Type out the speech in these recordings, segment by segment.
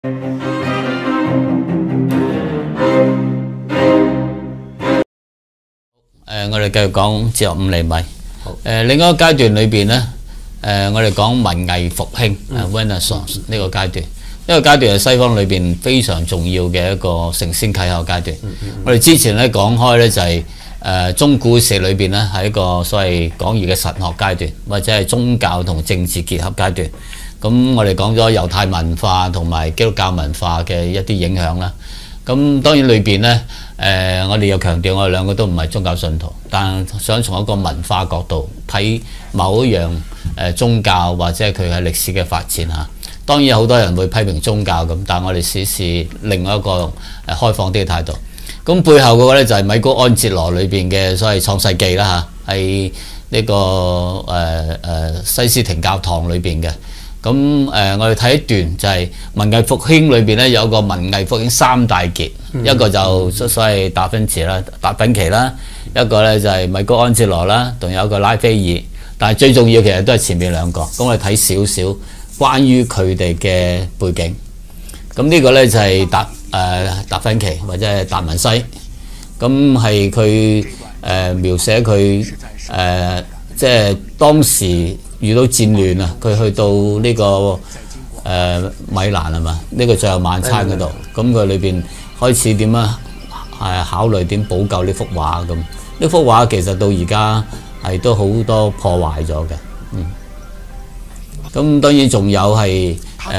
我哋繼續講哲學5厘米。另一個階段裏邊咧，我哋講文藝復興Renaissance 呢個階段。呢個階段係西方裏邊非常重要嘅一個承先啟後階段。我哋之前咧講開咧就係中古史裏邊咧係一個所謂廣義嘅神學階段，或者係宗教同政治結合階段。咁我哋講咗猶太文化同埋基督教文化嘅一啲影響啦。咁當然裏邊咧，我哋又強調我哋兩個都唔係宗教信徒，但想從一個文化角度睇某一樣宗教或者佢係歷史嘅發展嚇。當然好多人會批評宗教咁，但係我哋試試另外一個開放啲嘅態度。咁背後嗰個咧就係米高安哲羅裏邊嘅所謂創世記啦嚇，係呢個西斯廷教堂裏邊嘅。咁我哋睇一段就係文藝復興裏邊咧有個文藝復興3大傑，一個就所謂達芬奇啦，一個咧就係米高安哲羅啦，仲有一個拉斐爾。但係最重要其實都係前面兩個。咁我哋睇少少關於佢哋嘅背景。咁呢個咧就係達芬奇或者係達文西。咁係佢描寫佢即係當時遇到戰亂啊，佢去到呢個米蘭係嘛？呢個最後晚餐嗰度，咁佢裏邊開始點樣考慮點補救呢幅畫咁？呢幅畫其實到而家係都好多破壞咗嘅，咁當然仲有係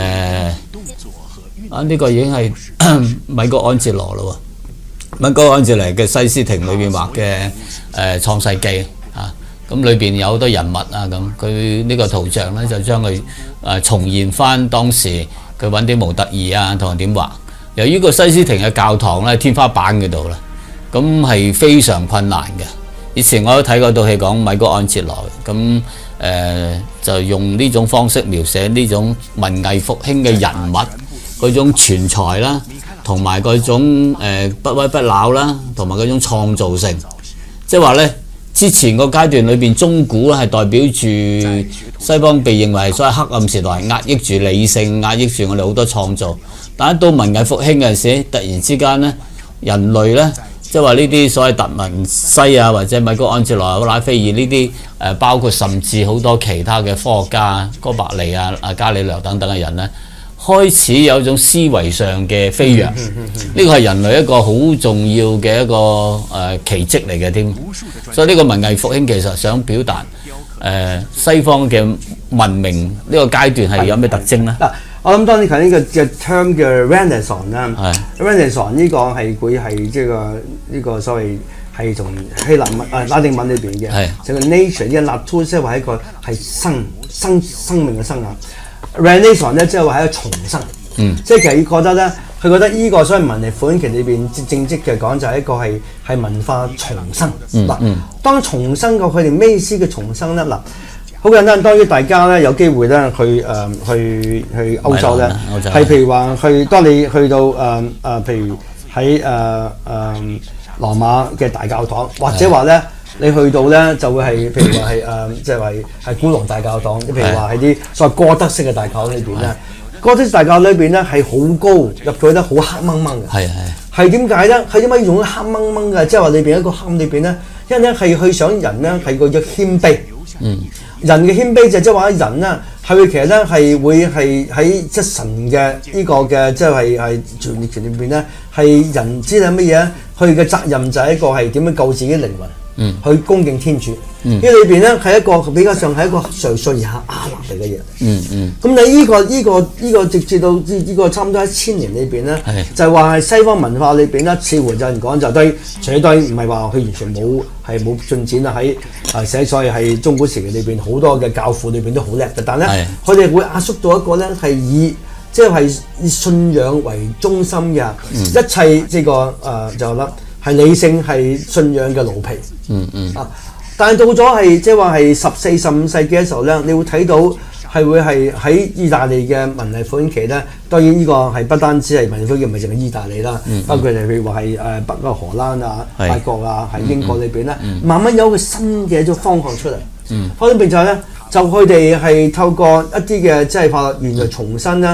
呢個已經係米高安哲羅咯喎，米高安哲羅嘅西斯廷裏邊畫嘅創世記。咁裏邊有好多人物啊，咁佢呢個圖像咧就將佢重現翻當時佢揾啲模特兒啊，同人點畫。由於個西斯廷嘅教堂咧天花板嗰度啦，咁係非常困難嘅。以前我都睇過套戲講米高安哲羅，咁就用呢種方式描寫呢種文藝復興嘅人物嗰種全才啦，同埋嗰種不屈不撓啦，同埋嗰種創造性，即係話咧。之前個階段裏邊，中古咧係代表住西方被認為所謂黑暗時代，壓抑住理性，壓抑住我哋好多創造。但係到文藝復興嘅時候，突然之間咧，人類咧，即係話呢啲所謂達文西啊，或者米高安哲羅、拉斐爾呢啲包括甚至好多其他嘅科學家，哥白尼啊、伽利略等等嘅人咧，開始有一種思維上嘅飛躍，呢個係人類一個好重要嘅一個奇蹟嚟嘅添。所以呢個文藝復興其實想表達西方嘅文明呢個階段係有咩特徵咧？嗱， 我諗當然佢呢個嘅 term 嘅 Renaissance 啦 ，Renaissance 呢個係佢係即係呢個所謂係從希臘文拉丁文裏邊嘅，就個 nature 呢個 nature 即係話一個係生命嘅生啊。Renaissance 咧，即係話係一個重生，即係其實佢覺得咧，佢覺得呢個所謂文藝復興期裏邊正職嘅講就係一個係文化重生。嗱，當重生過佢哋咩意思嘅重生咧？嗱，好簡單，當然大家咧有機會咧去歐洲咧，係譬如話當你去到譬如喺羅馬嘅大教堂，或者話咧。你去到咧就會係，譬如話係即係話係古羅大教堂，譬如話係啲所謂哥德式嘅大教堂裏邊咧，哥德式大教堂裏邊咧係好高，入去咧好黑掹掹嘅。係點解咧？係點解用黑掹掹嘅？即係話裏邊一個黑裏邊咧，因為咧係去想人咧係個嘅謙卑。人嘅謙卑就即係話人咧係會其實咧係會係喺即神嘅呢個嘅即係傳列傳裏邊咧係人知係乜嘢？佢嘅責任就係一個係點樣救自己靈魂。去恭敬天主，呢裏邊咧係一個比較上係一個垂垂而下亞納嚟嘅嘢。咁你呢個直至到呢個差唔多1000年裏邊咧，就係話係西方文化裏邊咧，似乎有人講就對，除咗對唔係話佢完全冇進展啦。喺寫所謂係中古時期裏邊好多嘅教父裏邊都好叻嘅，但係咧佢哋會壓縮到一個咧係以即係以信仰為中心嘅，一切呢個就啦。係理性係信仰嘅奴婢，但係到咗係即係話係14、15世紀嘅時候咧，你會睇到係會係喺意大利嘅文藝復興期咧。當然呢個係不單止係文藝復興，唔係淨係意大利啦，包括譬如話係北歐荷蘭啊、法國啊、喺英國裏邊咧，慢慢有個新嘅一種方向出嚟。方面就係咧，就佢哋係透過一啲嘅即係法律原來重新咧。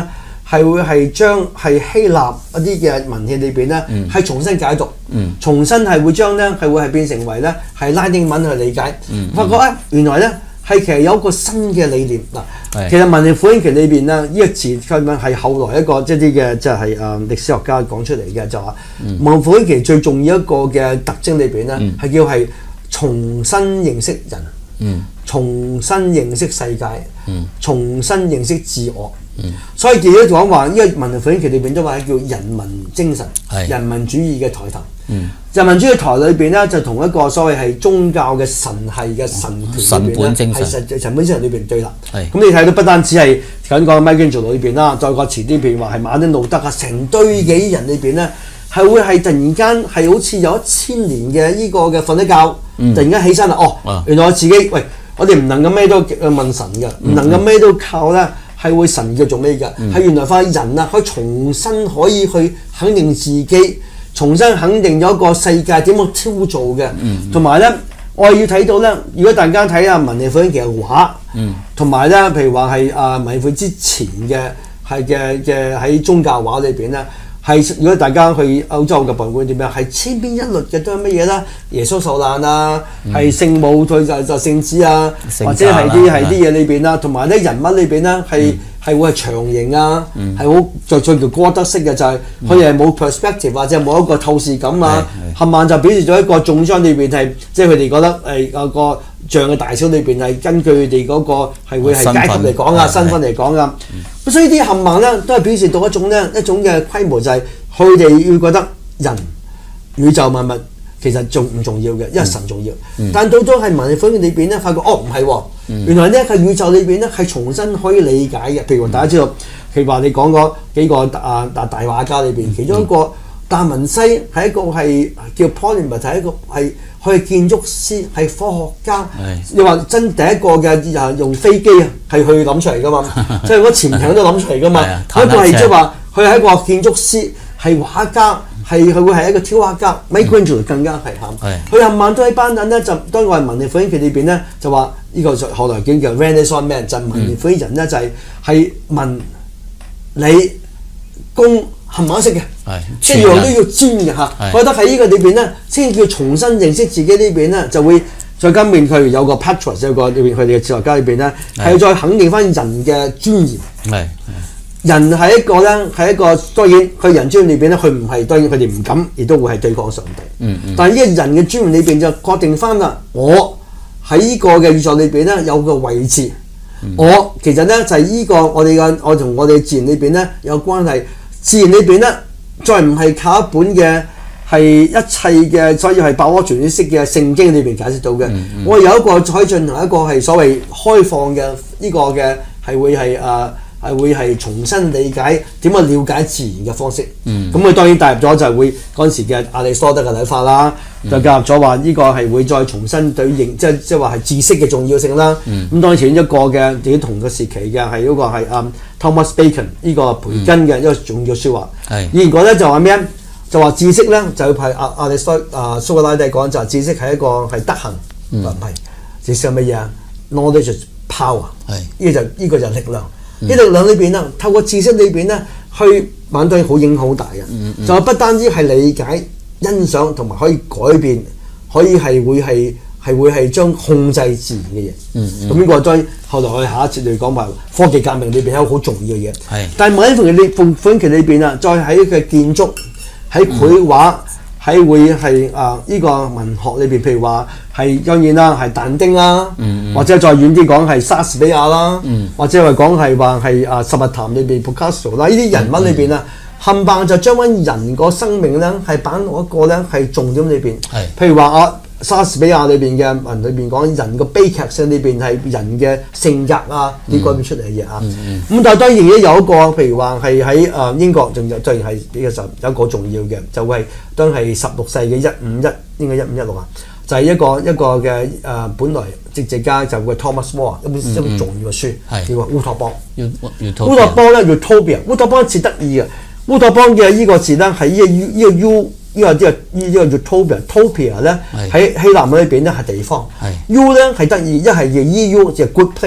係會係將係希臘一啲嘅文獻裏邊咧係重新解讀，重新係會將咧係會係變成為咧係拉丁文去理解，發覺咧原來咧係其實有一個新嘅理念嗱。其實文藝復興期裏邊咧呢個詞佢咪係後來一個即係啲嘅即係歷史學家講出嚟嘅，就話文藝復興期最重要一個嘅特徵裏邊咧係叫係重新認識人，重新認識世界，重新認識自我。所以記者講話呢個文藝復興期裏邊都話叫人民精神、人民主義嘅抬頭。人民主義台裏邊咧就同一個所謂係宗教嘅神系嘅神權裏邊咧係神本精神裏邊對立。咁你睇到不單止係緊講 Michelangelo 裏邊啦，再講遲啲譬如話係馬丁路德啊，成堆嘅人裏邊咧係會係突然間係好似有1000年嘅呢個嘅瞓咗覺，突然間起身啦，原來我自己喂，我哋唔能夠咩都問神嘅，唔能夠咩都靠咧。係會神叫做咩㗎？係原來發現人啊，可以重新可以去肯定自己，重新肯定咗個世界點樣挑造嘅。同埋咧，我係要睇到咧，如果大家睇下文藝復興期嘅畫，同埋咧，譬如話係文藝復興之前嘅嘅喺宗教畫裏邊咧，係如果大家去歐洲嘅博物館點樣，係千篇一律嘅都係乜嘢啦？耶穌受難啊，係聖母佢就聖子啊，或者係啲嘢裏邊啦，同埋咧人物裏邊咧係會係長形啊，係好最叫哥德式嘅，就係佢哋係冇 perspective 或者冇一個透視感啊，冚唪唥就表示咗一個重裝裏邊係，即係佢哋覺得有個像嘅大小裏邊係根據佢哋嗰個係會係階級嚟講啊，身份嚟講啊，所以啲冚唪唥咧都係表示到一種嘅規模，就係佢哋要覺得人宇宙萬物其實仲唔重要嘅，因為神重要。但到咗係文藝復興裏邊咧，發覺唔係喎，原來呢個宇宙裏邊咧係重新可以理解嘅。譬如大家知道，譬如話你講嗰幾個大畫家裏邊，其中一個達文西係一個係叫 Polymath， 係一個係佢係建築師，係科學家。你話真第一個嘅用飛機係去諗出嚟噶嘛？即係嗰潛艇都諗出嚟噶嘛？一個係即係話佢係一個建築師，係畫家。佢會係一個挑畫家 ，Michelangelo 更加係佢冚唪唥都喺班等咧，就當我係文藝復興期裏邊咧，就話呢個後來叫 Renaissance Man， 就文藝復興人咧就係文理工冚唪唥識嘅，即係樣都要專嘅嚇。覺得喺呢個裏邊咧，先叫重新認識自己呢邊咧，就會再加面佢有個 Petrus 有個裏邊佢哋嘅哲學家裏邊咧，係再肯定翻人嘅尊嚴。人係一個咧，係一個當然佢人尊嚴裏邊咧，佢唔係當然佢哋唔敢，亦都會係對抗上帝。但係呢個人嘅尊嚴裏邊就確定翻啦，我喺呢個嘅宇宙裏邊咧有個位置。我其實咧就係呢個我同我哋自然裏邊咧有關係。自然裏邊咧再唔係靠一本嘅係一切嘅，所以係百科全書式嘅聖經裏邊解釋到嘅。我有一個可以進行一個係所謂開放嘅呢個嘅係會係重新理解點樣了解自然嘅方式。咁佢當然帶入咗就係會嗰陣時嘅亞里士多德嘅睇法啦，就加入咗話呢個係會再重新對應即係話係知識嘅重要性啦。咁當然前一個嘅自己同個時期嘅係嗰個係Thomas Bacon 呢個培根嘅一個重要説話。以前講咧就話咩？就話知識咧就係亞里士多蘇格拉底講就係知識係一個係德行，唔係知識係乜嘢啊 ？Knowledge is power。呢個就力量。呢力量裏邊啦，透過知識裏邊咧，去反對好影響好大嘅。就不單止係理解、欣賞同埋可以改變，可以係會係將控制自然嘅嘢。咁呢個再後來我哋下一節嚟講埋科技革命裏邊有好重要嘅嘢。但係文藝復興期裏邊啊，再喺嘅建築、喺繪畫、喺會係呢個文學裏邊，譬如話係當然啦，係但丁啦，或者再遠啲講係莎士比亞啦，或者係講係話係十日談裏邊 Picasso 啦，呢啲人物裏邊啊，冚唪唥就將翻人個生命咧係擺落一個咧係重點裏邊。譬如話莎士比亞裏邊嘅文裏邊講人個悲劇性裏邊係人嘅性格啊，啲改變出嚟嘅嘢啊。咁但係當然亦都有一個，譬如話係喺英國仲有，當然係呢個時候有一個重要嘅，就係當係16世紀151應該1516啊，就係一個嘅本來政治家就會 Thomas More 一本重要嘅書，叫做烏托邦。烏托邦咧 Utopia， 烏托邦字得意嘅，烏托邦嘅呢個字咧係呢個 U。呢個叫 Utopia 咧喺希臘文裏邊咧係地方，U 咧係得意，一係叫 EU 就係 good place，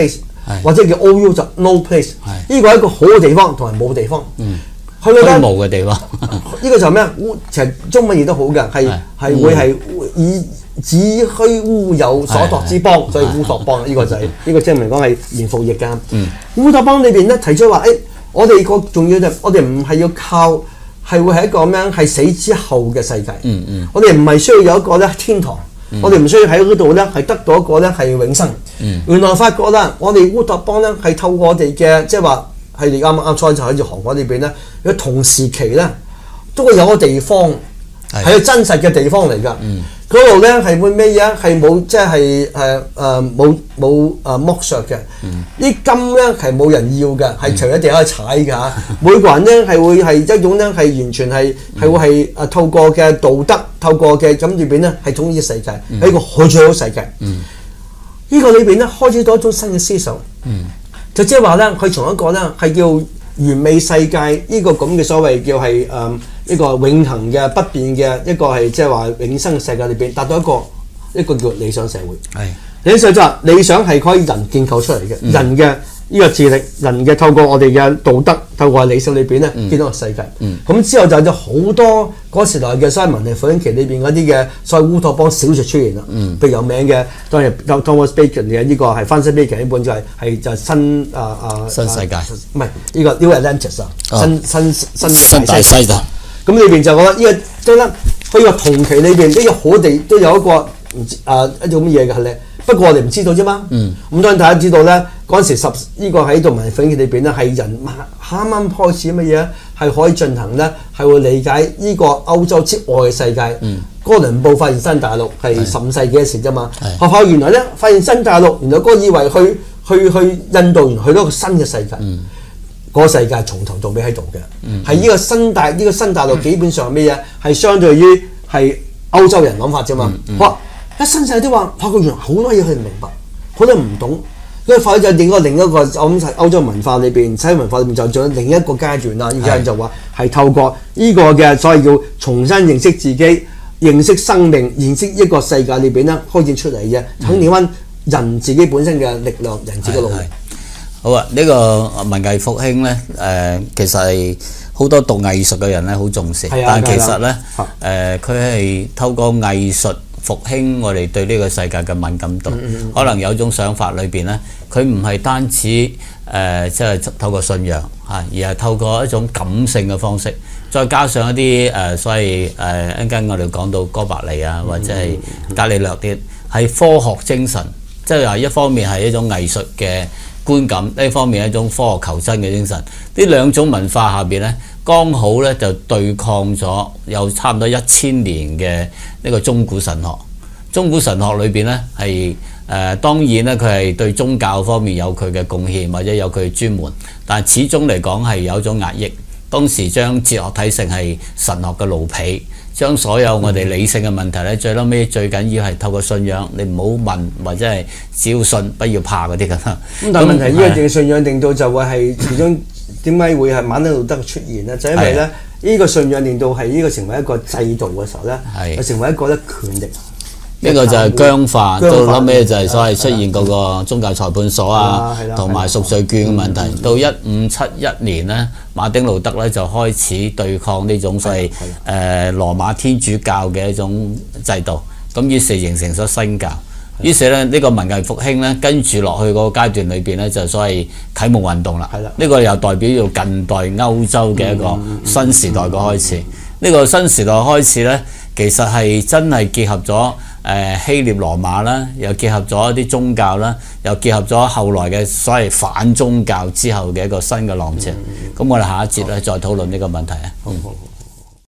或者叫 OU 就 no place。呢個係一個好嘅地方同埋冇地方。去到咧冇嘅地方， 呢個就係咩？其實中文譯得好嘅，係會係以子虛烏有所託之邦，所以烏托邦呢個就係呢個即係嚟講係原復譯㗎。烏托邦裏邊咧提出話，我哋個重要就我哋唔係要靠係會係一個咁樣係死之後嘅世界。我哋唔係需要有一個咧天堂，我哋唔需要喺嗰度咧係得到一個咧係永生。原來發覺啦，我哋烏托邦咧係透過我哋嘅即係話。係你啱初就喺住韓國呢邊咧，有同時期咧都會有個地方係個真實嘅地方嚟㗎。嗰度咧係會咩嘢？係冇即係冇剝削嘅。啲金咧係冇人要嘅，係隨地可以踩㗎。每個人咧係會係一種咧係完全係會係透過嘅道德，透過嘅咁裏邊咧係統一世界，係一個好最好世界。呢個裏邊咧開始到一種新嘅思想。就即係話咧，佢從一個咧係叫完美世界呢個咁嘅所謂叫係一個永恆嘅不變嘅一個係即係話永生嘅世界裏邊，達到一個叫理想社會。理想就係理想係可以人建構出嚟嘅，人嘅呢個智力，人嘅透過我哋嘅道德，透過理想裏邊咧建到個世界。咁之後就有好多嗰時代嘅所謂文藝復興期裏邊嗰啲嘅所謂烏托邦小説出現啦。譬如有名嘅當然 Thomas Bacon 嘅呢個係 Francis Bacon 呢本就係新世界， 唔係呢個 New Atlantis 新大西洋。 咁裏邊就覺得呢個即係咧，佢個同期裏邊呢個好地都有一個一種乜嘢嘅咧。不過我哋唔知道啫嘛。咁當然大家知道咧，嗰陣時呢個喺度文藝復興裏邊咧係人啱啱開始乜嘢係可以進行咧，係會理解呢個歐洲之外嘅世界。哥倫布發現新大陸係15世紀嘅事啫嘛。學校原來咧發現新大陸，原來哥以為去印度，原來去到一個新嘅世界。嗰個世界從頭到尾喺度嘅，係呢個新大陸基本上咩嘢係相對於係歐洲人諗法啫嘛。一新世界都話發覺原來好多嘢佢唔明白，好多唔懂，因為發覺就另一個我諗係歐洲文化裏邊、西方文化裏邊就仲有另一個階段啦。而家就話係透過呢個嘅所謂叫重新認識自己、認識生命、認識一個世界裏邊咧開展出嚟嘅，肯定翻人自己本身嘅力量、人自己嘅努力。 好啊！呢個文藝復興咧，其實係好多讀藝術嘅人咧好重視，但係其實咧，佢係透過藝術復興我哋對呢個世界嘅敏感度。可能有種想法裏邊咧，佢唔係單止即係透過信仰嚇，而係透過一種感性嘅方式，再加上一啲所謂一陣間我哋講到哥白尼啊，或者係伽利略啲，係科學精神，即係話一方面係一種藝術嘅觀感，呢方面係一種科學求真嘅精神。呢兩種文化下邊咧，剛好咧就對抗咗有差唔多1000年嘅呢個中古神學。中古神學裏邊咧係當然咧佢係對宗教方面有佢嘅貢獻或者有佢嘅專門，但係始終嚟講係有一種壓抑。當時將哲學睇成係神學嘅奴婢，將所有我哋理性嘅問題咧，最撈尾最緊要係透過信仰，你唔好問或者係只要信不要怕嗰啲咁。咁但係問題呢個嘅信仰令到就會係其中點解會係馬丁路德出現咧？就因為咧呢個信仰令到係呢個成為一個制度嘅時候咧，係成為一個咧權力。呢個就係僵化，到後尾就係所謂出現嗰個宗教裁判所啊，同埋贖罪券嘅問題。到1571年咧，馬丁路德咧就開始對抗呢種所謂羅馬天主教嘅一種制度，咁於是形成咗新教。於是咧呢個文藝復興咧跟住落去嗰個階段裏邊咧就所謂啟蒙運動啦。呢個又代表咗近代歐洲嘅一個新時代嘅開始。呢個新時代開始咧，其實係真係結合咗希臘羅馬啦，又結合咗一啲宗教啦，又結合咗後來嘅所謂反宗教之後嘅一個新嘅浪潮。咁我哋下一節咧再討論呢個問題啊。 好。